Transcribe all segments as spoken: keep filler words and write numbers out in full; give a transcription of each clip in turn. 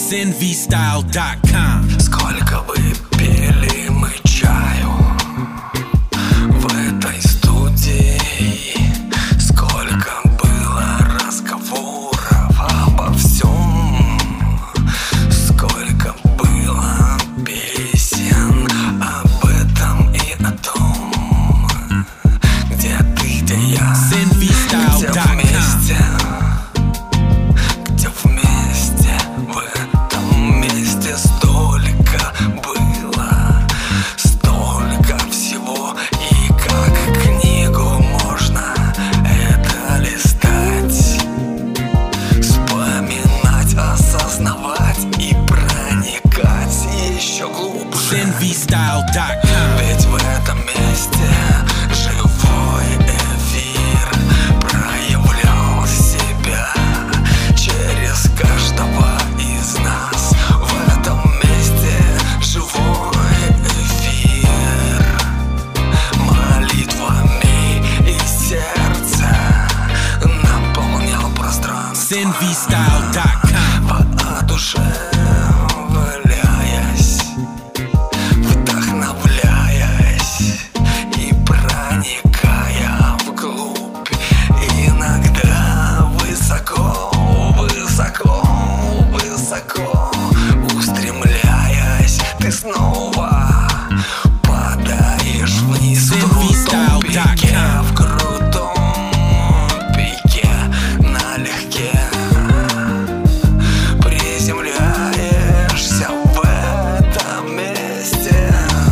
сэн ви стайл точка ком. Сколько бы пили мы чаю в этой студии, сколько было разговоров обо всем, сколько было песен об этом и о том, где ты, где я, сэн ви стайл где точка ком. вместе, где вместе, в этом месте столько было, столько всего, и как книгу можно это листать, вспоминать, осознавать и проникать еще глубже. сэн ви стайл точка ком. Ведь в этом месте живой эфир проявлял себя через каждого из нас. В этом месте живой эфир молитвами и сердце наполнял пространство, сэн ви стайл точка ком. воодушевляясь, вдохновляясь и проникая вглубь, иногда высоко, высоко, высоко устремляясь, ты снова падаешь вниз в сэн ви стайл крутом точка пике, ком. в крутом пике налегке приземляешься в этом месте.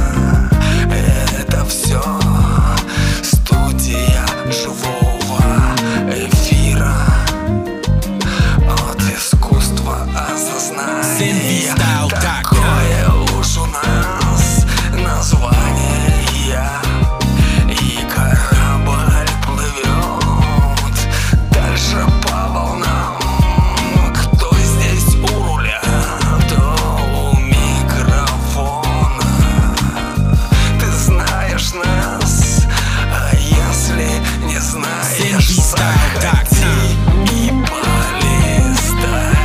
Это все студия живого эфира от искусства сэн ви осознания. стайл точка ком. Такое уж у нас название, и корабль плывет дальше по волнам. Кто здесь у руля, кто у микрофона? Ты знаешь нас, а если не сэн знаешь, ви стайл точка ком. заходи и полистай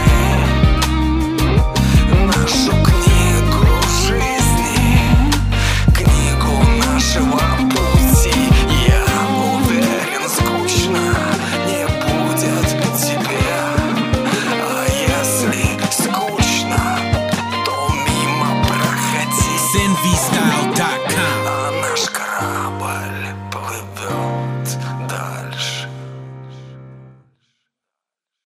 нашу книгу жизни, книгу нашего пути. Я уверен, скучно не будет тебе, а если скучно, то мимо проходи. сэн ви стайл точка